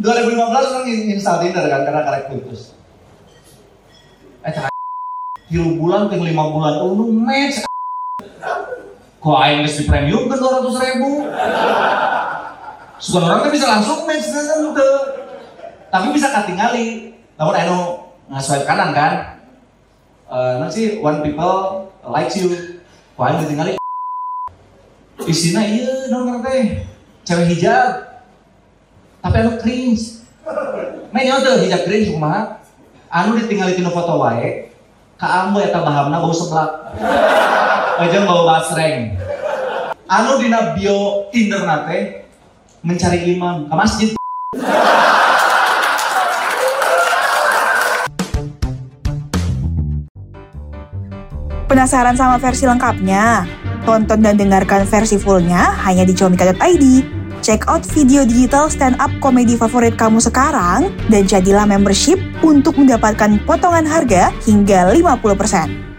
2015 orang install Tinder kan karena karek putus. Tilu bulan ke 5 bulan lu match. Kok aing geus di premium kan 200.000. Sekarang orang kan bisa langsung match kan udah. Tapi bisa katingali. Namun anu ngaswipe kanan kan. Nanti one people likes you. Kok aing ditinggali. Isina ieu naon teh. Cewek hijab. Tapi anu cringe. Nanya tuh hijab cringe kumaha? Anu ditinggali tina foto wae. Ka ambu eta bahamna bau seblak. Aja bau basreng. Anu dina bio Tinder nate mencari imam ke masjid. Penasaran sama versi lengkapnya? Tonton dan dengarkan versi fullnya hanya di comika.id. Check out video digital stand-up komedi favorit kamu sekarang dan jadilah membership untuk mendapatkan potongan harga hingga 50%.